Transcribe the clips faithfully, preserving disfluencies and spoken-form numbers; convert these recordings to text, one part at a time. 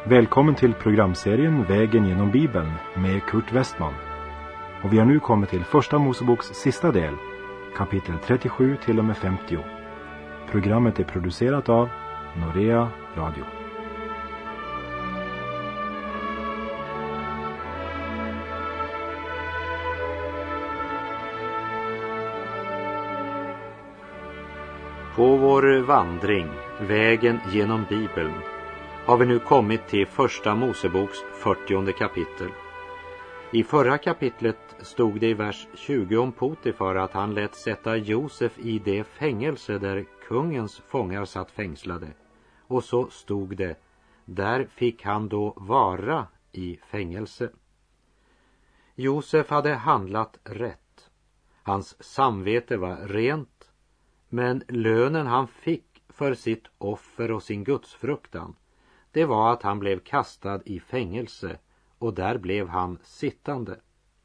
Välkommen till programserien Vägen genom Bibeln med Kurt Westman. Och vi har nu kommit till första Moseboks sista del, kapitel trettiosju till och med femtio. Programmet är producerat av Norea Radio. På vår vandring, vägen genom Bibeln, har vi nu kommit till första Moseboks fyrtionde kapitel. I förra kapitlet stod det i vers tjugo om Potifar att han lät sätta Josef i det fängelse där kungens fångar satt fängslade. Och så stod det, där fick han då vara i fängelse. Josef hade handlat rätt. Hans samvete var rent, men lönen han fick för sitt offer och sin gudsfruktan, det var att han blev kastad i fängelse, och där blev han sittande.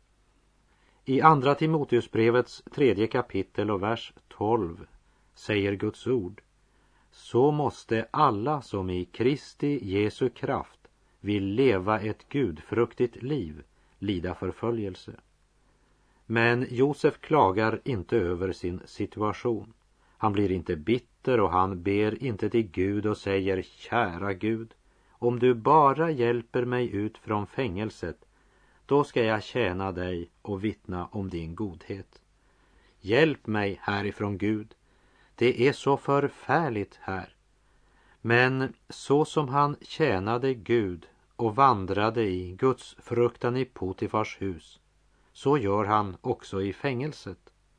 I andra Timoteusbrevets tredje kapitel och vers tolv säger Guds ord: så måste alla som i Kristi Jesu kraft vill leva ett gudfruktigt liv lida förföljelse. Men Josef klagar inte över sin situation. Han blir inte bitter och han ber inte till Gud och säger: kära Gud, om du bara hjälper mig ut från fängelset, då ska jag tjäna dig och vittna om din godhet. Hjälp mig härifrån, Gud. Det är så förfärligt här. Men så som han tjänade Gud och vandrade i Guds fruktan i Potifars hus, så gör han också i fängelset.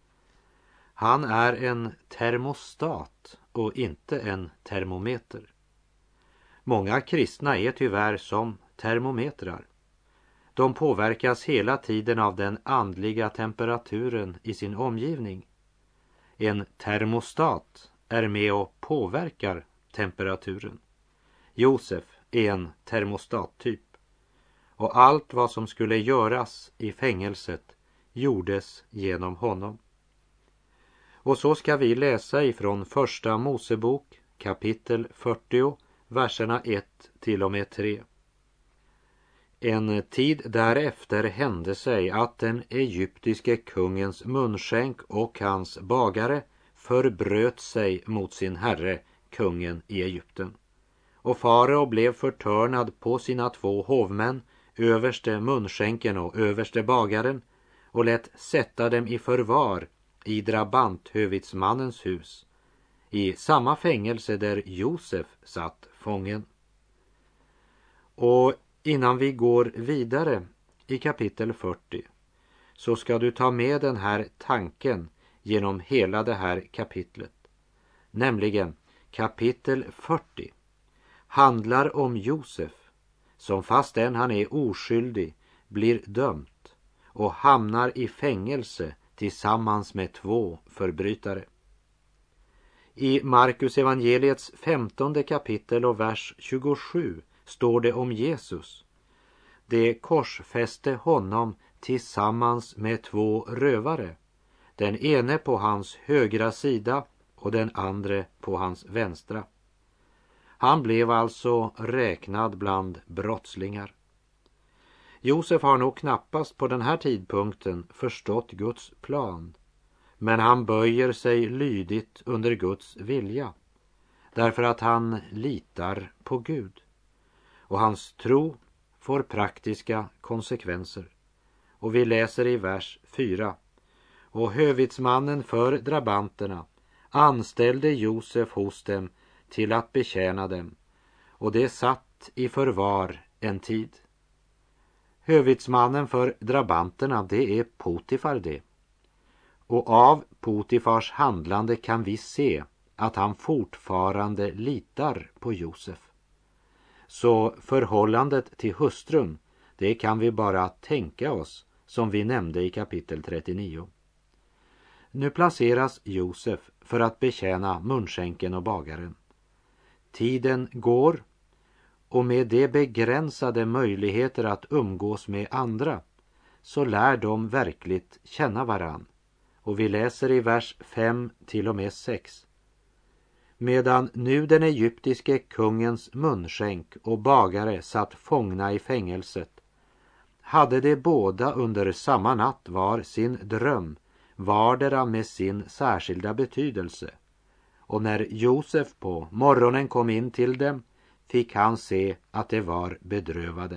Han är en termostat och inte en termometer. Många kristna är tyvärr som termometrar. De påverkas hela tiden av den andliga temperaturen i sin omgivning. En termostat är med och påverkar temperaturen. Josef är en termostattyp. Och allt vad som skulle göras i fängelset gjordes genom honom. Och så ska vi läsa ifrån första Mosebok kapitel fyrtio, verserna ett till och med tre. En tid därefter hände sig att den egyptiske kungens munskänk och hans bagare förbröt sig mot sin herre, kungen i Egypten. Och farao blev förtörnad på sina två hovmän, överste munskänken och överste bagaren, och lät sätta dem i förvar i drabanthövitsmannens hus, i samma fängelse där Josef satt fången. Och innan vi går vidare i kapitel fyrtio, så ska du ta med den här tanken genom hela det här kapitlet. Nämligen kapitel fyrtio handlar om Josef, som fastän han är oskyldig blir dömt och hamnar i fängelse tillsammans med två förbrytare. I Markus evangeliets femtonde kapitel och vers tjugosju står det om Jesus. Det korsfäste honom tillsammans med två rövare, den ene på hans högra sida och den andra på hans vänstra. Han blev alltså räknad bland brottslingar. Josef har nog knappast på den här tidpunkten förstått Guds plan, men han böjer sig lydigt under Guds vilja, därför att han litar på Gud. Och hans tro får praktiska konsekvenser. Och vi läser i vers fyra. Och hövitsmannen för drabanterna anställde Josef hos dem till att betjäna dem, och det satt i förvar en tid. Hövitsmannen för drabanterna, det är Potifar det. Och av Potifars handlande kan vi se att han fortfarande litar på Josef. Så förhållandet till hustrun, det kan vi bara tänka oss, som vi nämnde i kapitel trettionio. Nu placeras Josef för att betjäna munskänken och bagaren. Tiden går, och med de begränsade möjligheter att umgås med andra, så lär de verkligt känna varann. Och vi läser i vers fem till och med sex. medan nu den egyptiske kungens munskänk och bagare satt fångna i fängelset, hade de båda under samma natt var sin dröm, vardera med sin särskilda betydelse. Och när Josef på morgonen kom in till dem, fick han se att de var bedrövade.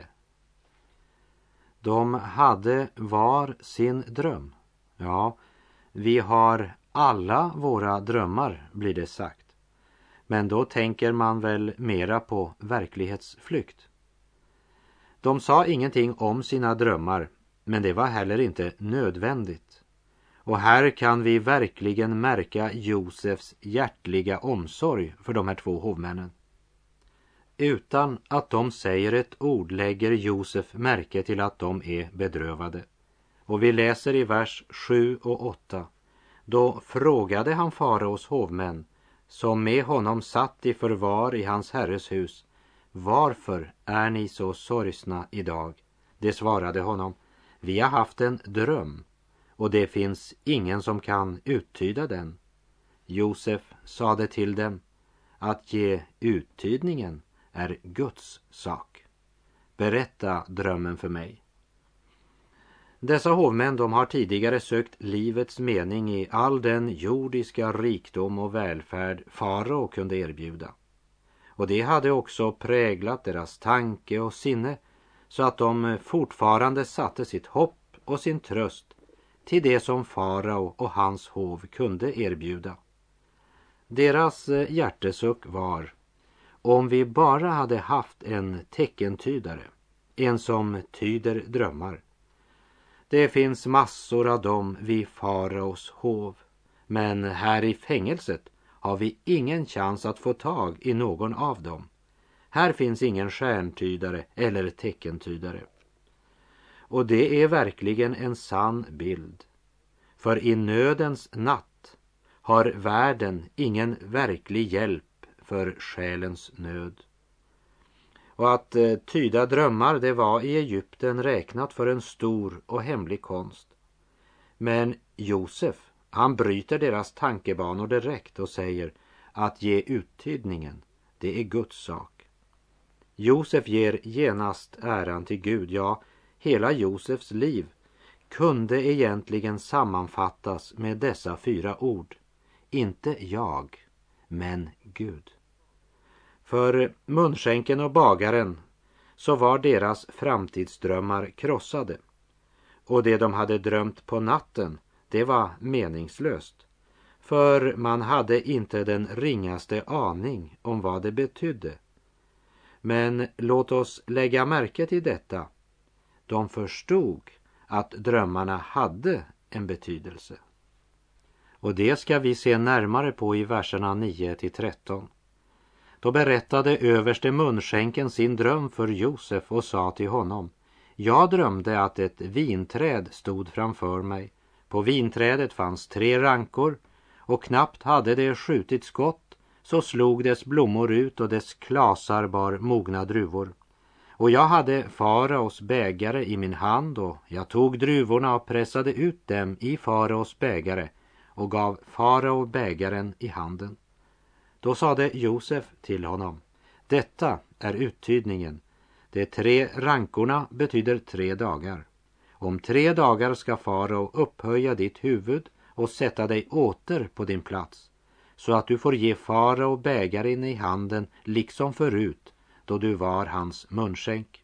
De hade var sin dröm. Ja, vi har alla våra drömmar, blir det sagt. Men då tänker man väl mera på verklighetsflykt. De sa ingenting om sina drömmar, men det var heller inte nödvändigt. Och här kan vi verkligen märka Josefs hjärtliga omsorg för de här två hovmännen. Utan att de säger ett ord lägger Josef märke till att de är bedrövade. Och vi läser i vers sju och åtta. Då frågade han faraos hovmän, som med honom satt i förvar i hans herres hus: varför är ni så sorgsna idag? Det svarade honom: vi har haft en dröm, och det finns ingen som kan uttyda den. Josef sade till dem: att ge uttydningen är Guds sak. Berätta drömmen för mig. Dessa hovmän, de har tidigare sökt livets mening i all den jordiska rikdom och välfärd farao kunde erbjuda. Och det hade också präglat deras tanke och sinne, så att de fortfarande satte sitt hopp och sin tröst till det som farao och hans hov kunde erbjuda. Deras hjärtesuck var: om vi bara hade haft en teckentydare, en som tyder drömmar. Det finns massor av dem vid faraos hov, men här i fängelset har vi ingen chans att få tag i någon av dem. Här finns ingen stjärntydare eller teckentydare. Och det är verkligen en sann bild. För i nödens natt har världen ingen verklig hjälp för själens nöd. Och att eh, tyda drömmar, det var i Egypten räknat för en stor och hemlig konst. Men Josef, han bryter deras tankebanor direkt och säger att ge uttydningen, det är Guds sak. Josef ger genast äran till Gud. Ja, hela Josefs liv kunde egentligen sammanfattas med dessa fyra ord: inte jag, men Gud. För munskänken och bagaren så var deras framtidsdrömmar krossade. Och det de hade drömt på natten, det var meningslöst. För man hade inte den ringaste aning om vad det betydde. Men låt oss lägga märke till detta. De förstod att drömmarna hade en betydelse. Och det ska vi se närmare på i verserna nio till tretton. Då berättade överste munskänken sin dröm för Josef och sa till honom: jag drömde att ett vinträd stod framför mig. På vinträdet fanns tre rankor, och knappt hade det skjutit skott så slog dess blommor ut och dess klasar bar mogna druvor. Och jag hade faraos bägare i min hand, och jag tog druvorna och pressade ut dem i faraos bägare och gav farao bägaren i handen. Då sade Josef till honom: detta är uttydningen. De tre rankorna betyder tre dagar. Om tre dagar ska farao upphöja ditt huvud och sätta dig åter på din plats, så att du får ge farao bägaren i handen liksom förut, då du var hans munskänk.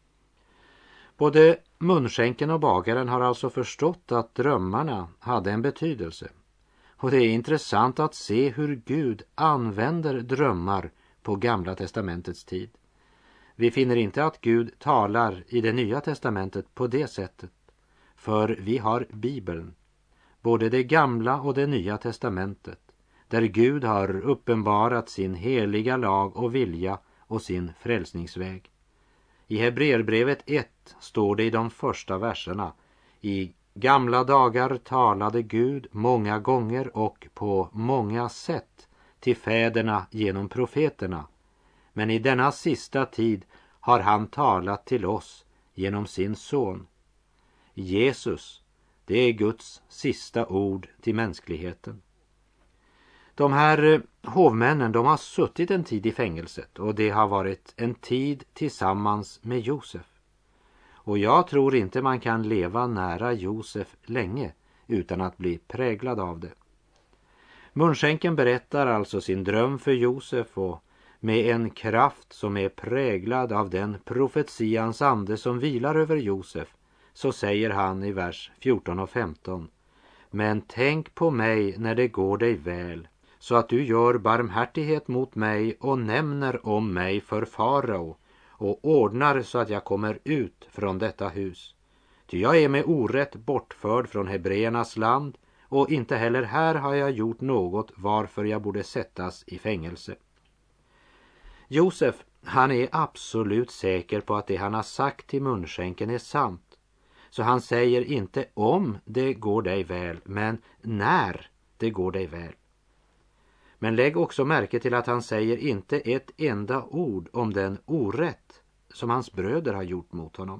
Både munskänken och bagaren har alltså förstått att drömmarna hade en betydelse. Och det är intressant att se hur Gud använder drömmar på Gamla testamentets tid. Vi finner inte att Gud talar i det Nya testamentet på det sättet. För vi har Bibeln, både det Gamla och det Nya testamentet, där Gud har uppenbarat sin heliga lag och vilja och sin frälsningsväg. I Hebreerbrevet ett står det i de första verserna: i gamla dagar talade Gud många gånger och på många sätt till fäderna genom profeterna. Men i denna sista tid har han talat till oss genom sin son. Jesus, det är Guds sista ord till mänskligheten. De här hovmännen, de har suttit en tid i fängelset och det har varit en tid tillsammans med Josef. Och jag tror inte man kan leva nära Josef länge utan att bli präglad av det. Munskänken berättar alltså sin dröm för Josef och med en kraft som är präglad av den profetians ande som vilar över Josef, så säger han i vers fjorton och femton: Men tänk på mig när det går dig väl, så att du gör barmhärtighet mot mig och nämner om mig för farao och ordnar så att jag kommer ut från detta hus. Ty jag är med orätt bortförd från hebreernas land och inte heller här har jag gjort något varför jag borde sättas i fängelse. Josef, han är absolut säker på att det han har sagt till munskänken är sant. Så han säger inte om det går dig väl, men när det går dig väl. Men lägg också märke till att han säger inte ett enda ord om den orätt som hans bröder har gjort mot honom.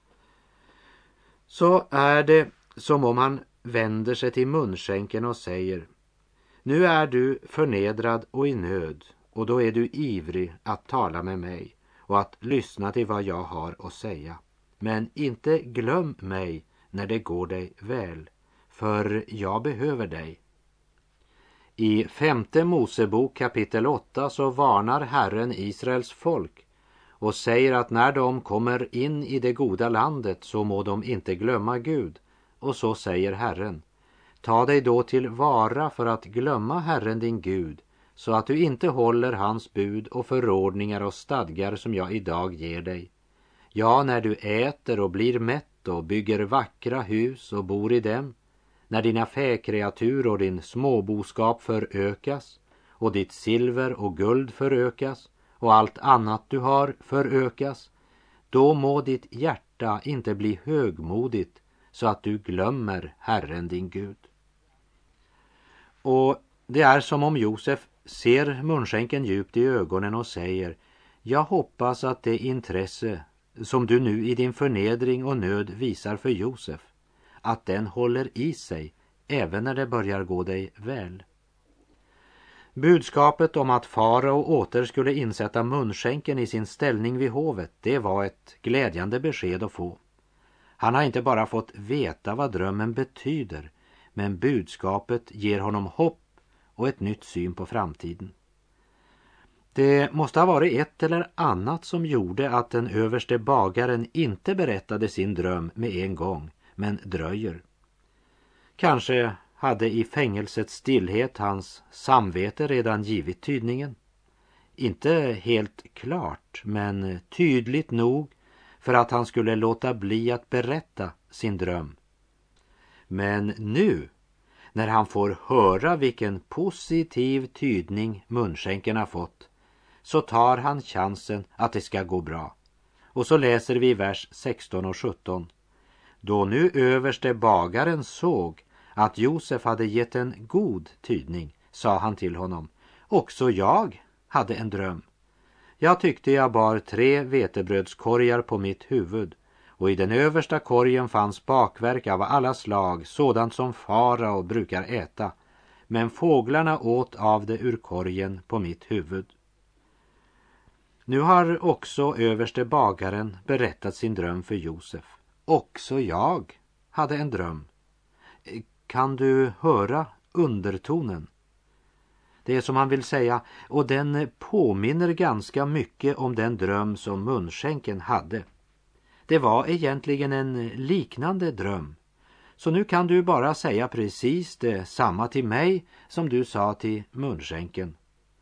Så är det som om han vänder sig till munskänken och säger: Nu är du förnedrad och i nöd, och då är du ivrig att tala med mig och att lyssna till vad jag har att säga. Men inte glöm mig när det går dig väl, för jag behöver dig. I femte Mosebok kapitel åtta så varnar Herren Israels folk och säger att när de kommer in i det goda landet så må de inte glömma Gud. Och så säger Herren: Ta dig då till vara för att glömma Herren din Gud, så att du inte håller hans bud och förordningar och stadgar som jag idag ger dig. Ja, när du äter och blir mätt och bygger vackra hus och bor i dem, när dina fäkreatur och din småboskap förökas och ditt silver och guld förökas och allt annat du har förökas, då må ditt hjärta inte bli högmodigt så att du glömmer Herren din Gud. Och det är som om Josef ser munskänken djupt i ögonen och säger: Jag hoppas att det intresse som du nu i din förnedring och nöd visar för Josef, att den håller i sig även när det börjar gå dig väl. Budskapet om att farao åter skulle insätta munskänken i sin ställning vid hovet, det var ett glädjande besked att få. Han har inte bara fått veta vad drömmen betyder, men budskapet ger honom hopp och ett nytt syn på framtiden. Det måste ha varit ett eller annat som gjorde att den överste bagaren inte berättade sin dröm med en gång, men dröjer. Kanske hade i fängelsets stillhet hans samvete redan givit tydningen. Inte helt klart, men tydligt nog för att han skulle låta bli att berätta sin dröm. Men nu, när han får höra vilken positiv tydning munskänken har fått, så tar han chansen att det ska gå bra. Och så läser vi vers sexton och sjutton. Då nu överste bagaren såg att Josef hade gett en god tydning, sa han till honom: Också jag hade en dröm. Jag tyckte jag bar tre vetebrödskorgar på mitt huvud, och i den översta korgen fanns bakverk av alla slag, sådant som farao brukar äta, men fåglarna åt av det ur korgen på mitt huvud. Nu har också överste bagaren berättat sin dröm för Josef. Också jag hade en dröm. Kan du höra undertonen? Det är som han vill säga, och den påminner ganska mycket om den dröm som munskänken hade. Det var egentligen en liknande dröm. Så nu kan du bara säga precis det samma till mig som du sa till munskänken.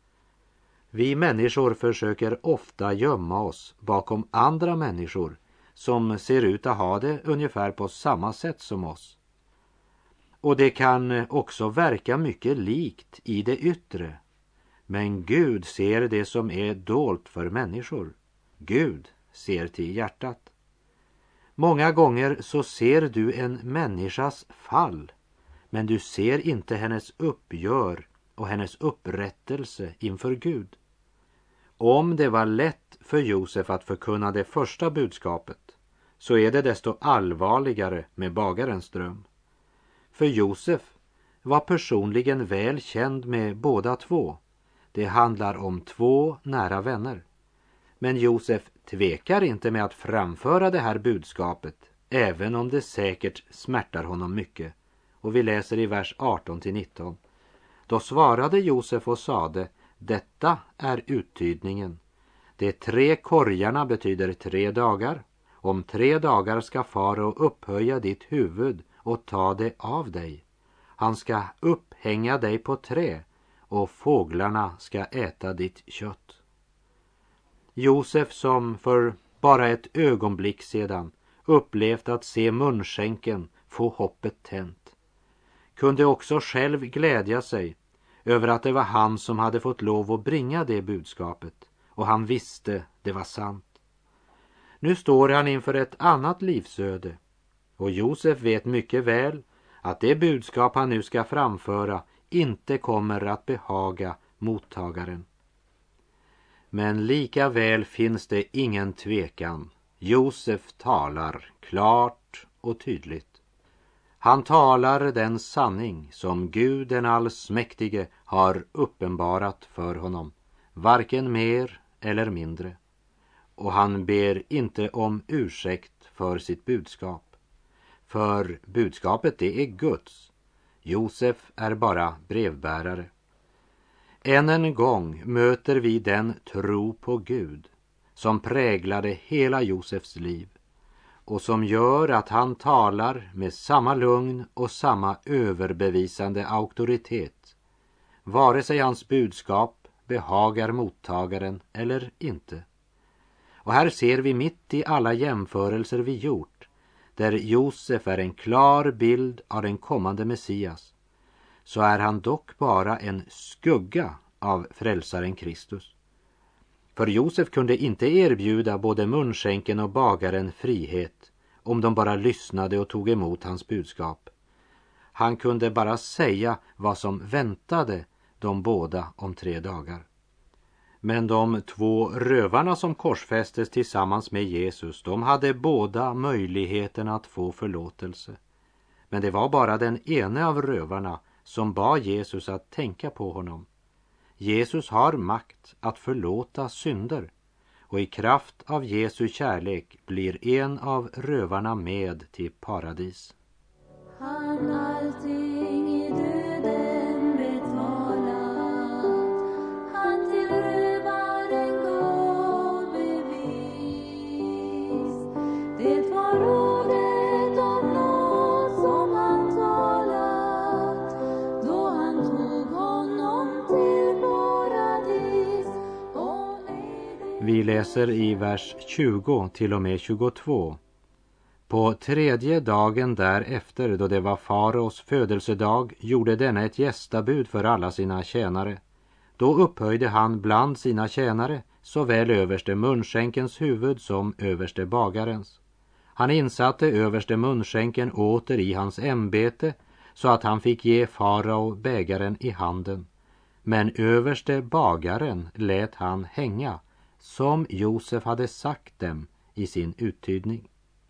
Vi människor försöker ofta gömma oss bakom andra människor som ser ut att ha det ungefär på samma sätt som oss. Och det kan också verka mycket likt i det yttre. Men Gud ser det som är dolt för människor. Gud ser till hjärtat. Många gånger så ser du en människas fall, men du ser inte hennes uppgör och hennes upprättelse inför Gud. Om det var lätt för Josef att förkunna det första budskapet, så är det desto allvarligare med bagarens dröm. För Josef, var personligen väl känd med båda två. Det handlar om två nära vänner. Men Josef tvekar inte med att framföra det här budskapet, även om det säkert smärtar honom mycket. Och vi läser i vers arton till nitton. Då svarade Josef och sade: detta är uttydningen. De tre korgarna betyder tre dagar. Om tre dagar ska farao upphöja ditt huvud och ta det av dig. Han ska upphänga dig på trä och fåglarna ska äta ditt kött. Josef, som för bara ett ögonblick sedan upplevt att se munskänken få hoppet tänt, kunde också själv glädja sig över att det var han som hade fått lov att bringa det budskapet, och han visste det var sant. Nu står han inför ett annat livsöde, och Josef vet mycket väl att det budskap han nu ska framföra inte kommer att behaga mottagaren. Men lika väl finns det ingen tvekan. Josef talar klart och tydligt. Han talar den sanning som Gud den allsmäktige har uppenbarat för honom, varken mer eller mindre. Och han ber inte om ursäkt för sitt budskap. För budskapet det är Guds. Josef är bara brevbärare. Än en gång möter vi den tro på Gud som präglade hela Josefs liv och som gör att han talar med samma lugn och samma överbevisande auktoritet, vare sig hans budskap behagar mottagaren eller inte. Och här ser vi mitt i alla jämförelser vi gjort, där Josef är en klar bild av den kommande Messias, så är han dock bara en skugga av frälsaren Kristus. För Josef kunde inte erbjuda både munskänken och bagaren frihet om de bara lyssnade och tog emot hans budskap. Han kunde bara säga vad som väntade de båda om tre dagar. Men de två rövarna som korsfästes tillsammans med Jesus, de hade båda möjligheten att få förlåtelse. Men det var bara den ene av rövarna som bad Jesus att tänka på honom. Jesus har makt att förlåta synder, och i kraft av Jesu kärlek blir en av rövarna med till paradis. Han allting i döden betalat, han till rövaren gav bevis. Det var ordet om nåd som han talat, då han tog honom till paradis. Och ej det... Vi läser i vers tjugo till och med tjugotvå. På tredje dagen därefter, då det var faraos födelsedag, gjorde denna ett gästabud för alla sina tjänare. Då upphöjde han bland sina tjänare såväl överste munskänkens huvud som överste bagarens. Han insatte överste munskänken åter i hans ämbete, så att han fick ge farao bägaren i handen. Men överste bagaren lät han hänga, som Josef hade sagt dem i sin uttydning.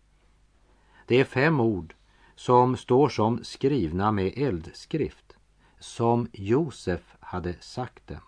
Det är fem ord som står som skrivna med eldskrift, som Josef hade sagt dem.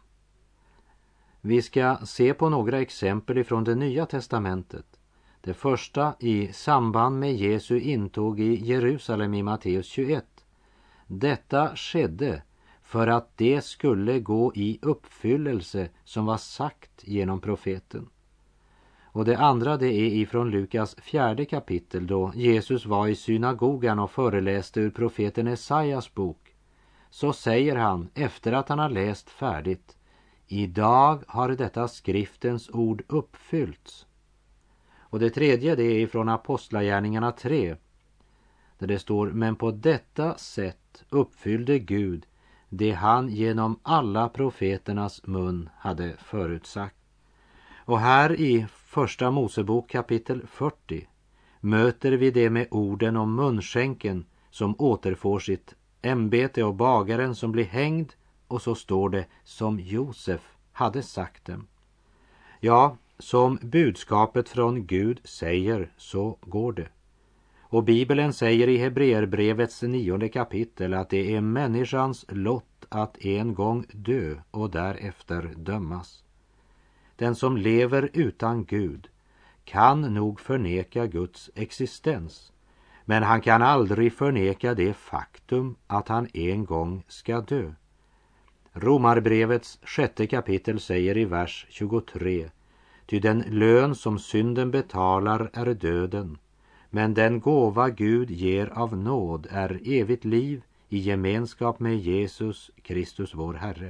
Vi ska se på några exempel ifrån det Nya testamentet. Det första i samband med Jesu intåg i Jerusalem i Matteus tjugoett. Detta skedde för att det skulle gå i uppfyllelse som var sagt genom profeten. Och det andra det är ifrån Lukas fjärde kapitel, då Jesus var i synagogan och föreläste ur profeten Esajas bok. Så säger han efter att han har läst färdigt: idag har detta skriftens ord uppfyllts. Och det tredje det är ifrån Apostlagärningarna tre, där det står: men på detta sätt uppfyllde Gud det han genom alla profeternas mun hade förutsagt. Och här i första Mosebok kapitel fyrtio möter vi det med orden om munskänken som återfår sitt ämbete och bagaren som blir hängd, och så står det som Josef hade sagt dem. Ja, som budskapet från Gud säger, så går det. Och Bibeln säger i Hebreerbrevets nionde kapitel att det är människans lott att en gång dö och därefter dömas. Den som lever utan Gud kan nog förneka Guds existens, men han kan aldrig förneka det faktum att han en gång ska dö. Romarbrevets sjätte kapitel säger i vers tjugotre: ty den lön som synden betalar är döden, men den gåva Gud ger av nåd är evigt liv i gemenskap med Jesus Kristus vår Herre.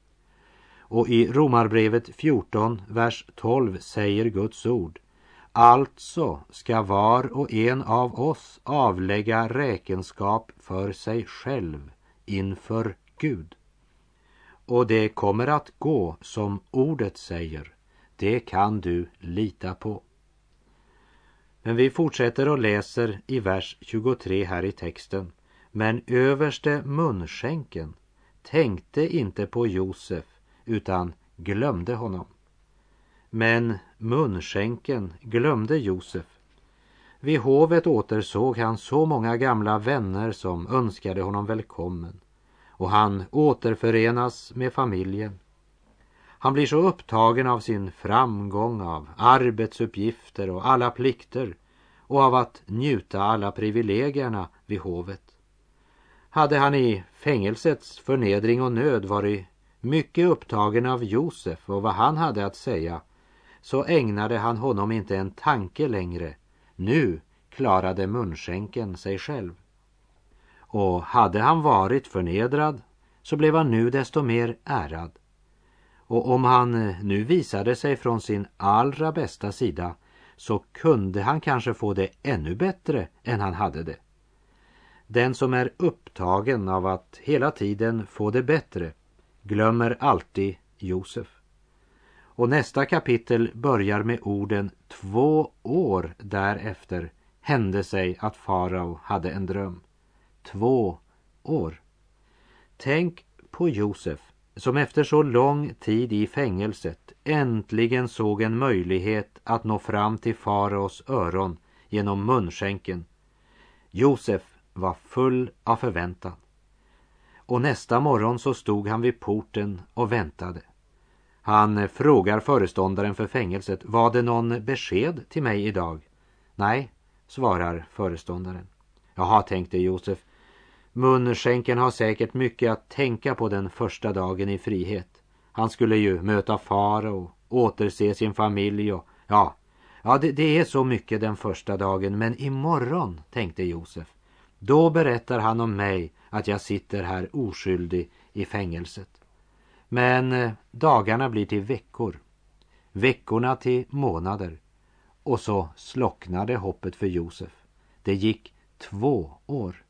Och i Romarbrevet fjorton, vers tolv säger Guds ord: alltså ska var och en av oss avlägga räkenskap för sig själv inför Gud. Och det kommer att gå som ordet säger. Det kan du lita på. Men vi fortsätter och läser i vers tjugotre här i texten. Men överste munskänken tänkte inte på Josef utan glömde honom. Men munskänken glömde Josef. Vid hovet återsåg han så många gamla vänner som önskade honom välkommen. Och han återförenas med familjen. Han blir så upptagen av sin framgång, av arbetsuppgifter och alla plikter och av att njuta alla privilegierna vid hovet. Hade han i fängelsets förnedring och nöd varit mycket upptagen av Josef och vad han hade att säga, så ägnade han honom inte en tanke längre. Nu klarade munskänken sig själv. Och hade han varit förnedrad så blev han nu desto mer ärad. Och om han nu visade sig från sin allra bästa sida så kunde han kanske få det ännu bättre än han hade det. Den som är upptagen av att hela tiden få det bättre glömmer alltid Josef. Och nästa kapitel börjar med orden: två år därefter hände sig att farao hade en dröm. Två år. Tänk på Josef som efter så lång tid i fängelset äntligen såg en möjlighet att nå fram till faraos öron genom munskänken. Josef var full av förväntan. Och nästa morgon så stod han vid porten och väntade. Han frågar föreståndaren för fängelset: var det någon besked till mig idag? Nej, svarar föreståndaren. Jaha, tänkte Josef. Munskänken har säkert mycket att tänka på den första dagen i frihet. Han skulle ju möta farao och återse sin familj och ja, ja det, det är så mycket den första dagen. Men imorgon, tänkte Josef, då berättar han om mig att jag sitter här oskyldig i fängelset. Men eh, dagarna blir till veckor, veckorna till månader, och så slocknade hoppet för Josef. Det gick två år.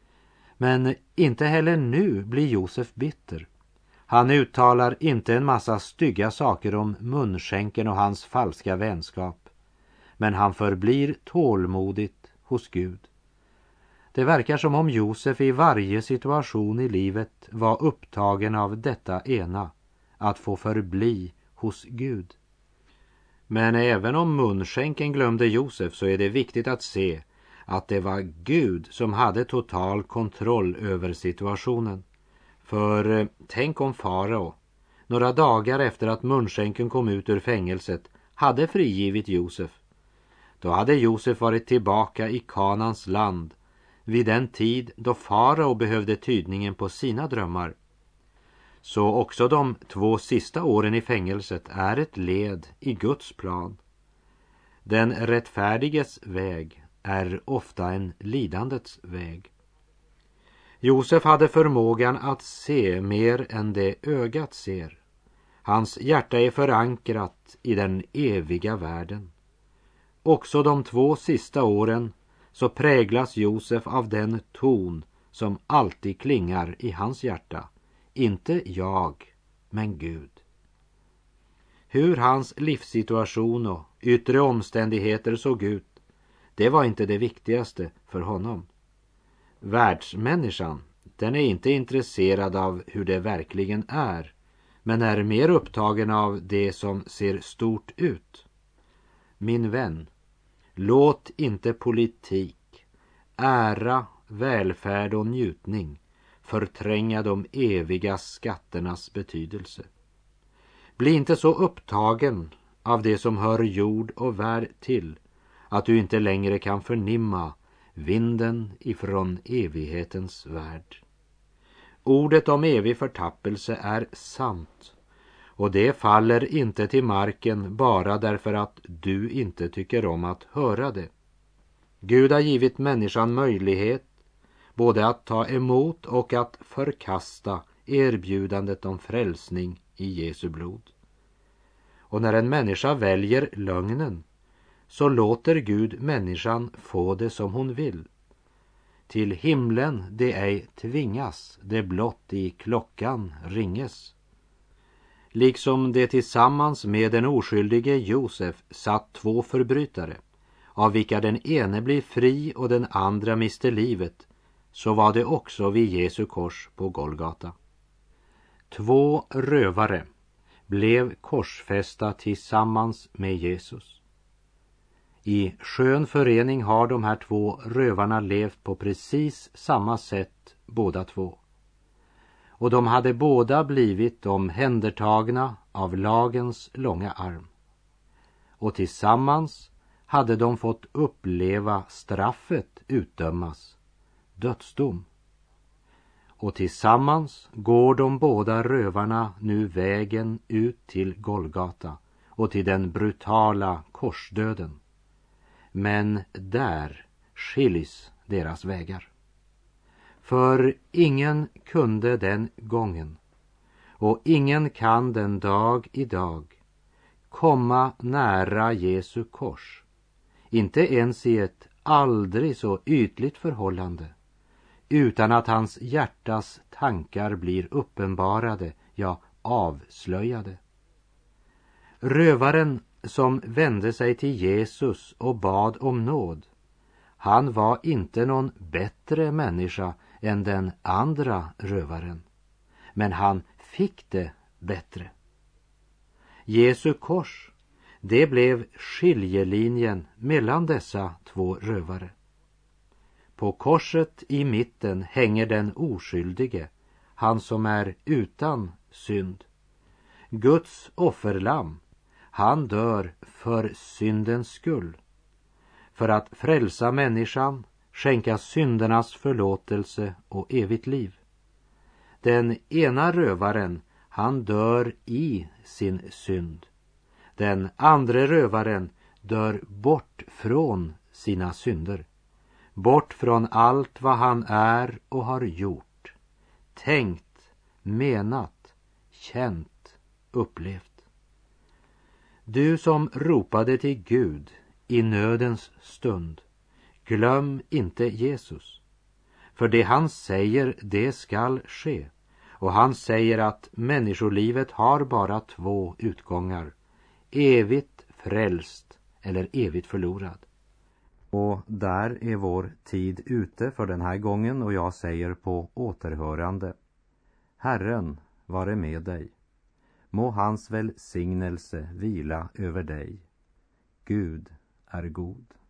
Men inte heller nu blir Josef bitter. Han uttalar inte en massa stygga saker om munskänken och hans falska vänskap. Men han förblir tålmodigt hos Gud. Det verkar som om Josef i varje situation i livet var upptagen av detta ena, att få förbli hos Gud. Men även om munskänken glömde Josef så är det viktigt att se att det var Gud som hade total kontroll över situationen. För eh, tänk om farao, några dagar efter att munskänken kom ut ur fängelset, hade frigivit Josef. Då hade Josef varit tillbaka i Kanans land vid den tid då farao behövde tydningen på sina drömmar. Så också de två sista åren i fängelset är ett led i Guds plan. Den rättfärdiges väg är ofta en lidandets väg. Josef hade förmågan att se mer än det ögat ser. Hans hjärta är förankrat i den eviga världen. Också de två sista åren så präglas Josef av den ton som alltid klingar i hans hjärta. Inte jag, men Gud. Hur hans livssituation och yttre omständigheter såg ut, det var inte det viktigaste för honom. Världsmänniskan, den är inte intresserad av hur det verkligen är, men är mer upptagen av det som ser stort ut. Min vän, låt inte politik, ära, välfärd och njutning förtränga de eviga skatternas betydelse. Bli inte så upptagen av det som hör jord och värld till att du inte längre kan förnimma vinden ifrån evighetens värld. Ordet om evig förtappelse är sant, och det faller inte till marken bara därför att du inte tycker om att höra det. Gud har givit människan möjlighet både att ta emot och att förkasta erbjudandet om frälsning i Jesu blod. Och när en människa väljer lögnen, så låter Gud människan få det som hon vill. Till himlen det ej tvingas, det blott i klockan ringes. Liksom det tillsammans med den oskyldige Josef satt två förbrytare, av vilka den ene blir fri och den andra mister livet, så var det också vid Jesu kors på Golgata. Två rövare blev korsfästa tillsammans med Jesus. I skön förening har de här två rövarna levt på precis samma sätt båda två. Och de hade båda blivit omhändertagna av lagens långa arm. Och tillsammans hade de fått uppleva straffet utdömas, dödsdom. Och tillsammans går de båda rövarna nu vägen ut till Golgata och till den brutala korsdöden. Men där skiljs deras vägar. För ingen kunde den gången, och ingen kan den dag idag, komma nära Jesu kors, inte ens i ett aldrig så ytligt förhållande, utan att hans hjärtas tankar blir uppenbarade, ja avslöjade. Rövaren som vände sig till Jesus och bad om nåd, han var inte någon bättre människa än den andra rövaren, men han fick det bättre. Jesu kors, det blev skiljelinjen mellan dessa två rövare. På korset i mitten hänger den oskyldige, han som är utan synd. Guds offerlamm, han dör för syndens skull, för att frälsa människan, skänka syndernas förlåtelse och evigt liv. Den ena rövaren, han dör i sin synd. Den andra rövaren dör bort från sina synder, bort från allt vad han är och har gjort, tänkt, menat, känt, upplevt. Du som ropade till Gud i nödens stund, glöm inte Jesus. För det han säger, det skall ske. Och han säger att människolivet har bara två utgångar. Evigt frälst eller evigt förlorad. Och där är vår tid ute för den här gången, och jag säger på återhörande: Herren vare med dig. Må hans välsignelse vila över dig. Gud är god.